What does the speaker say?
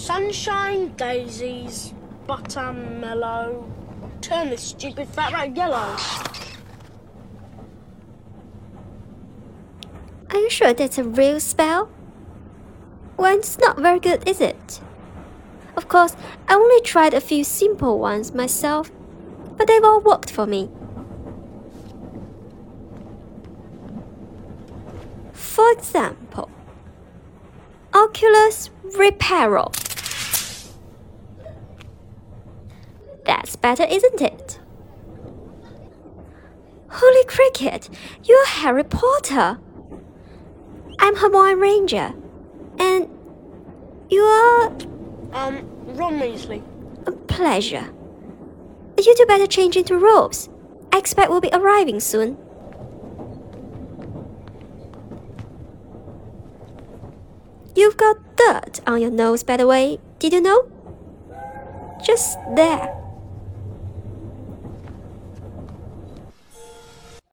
Sunshine, daisies, buttermellow. Turn this stupid fat rat yellow. Are you sure that's a real spell? Well, it's not very good, is it? Of course, I only tried a few simple ones myself, but they've all worked for me. For example, Oculus Reparo. That's better, isn't it? Holy cricket, you're Harry Potter. I'm Hermione Ranger. And you're... Ron Weasley. A pleasure. You two better change into robes. I expect we'll be arriving soon. You've got dirt on your nose, by the way. Did you know? Just there.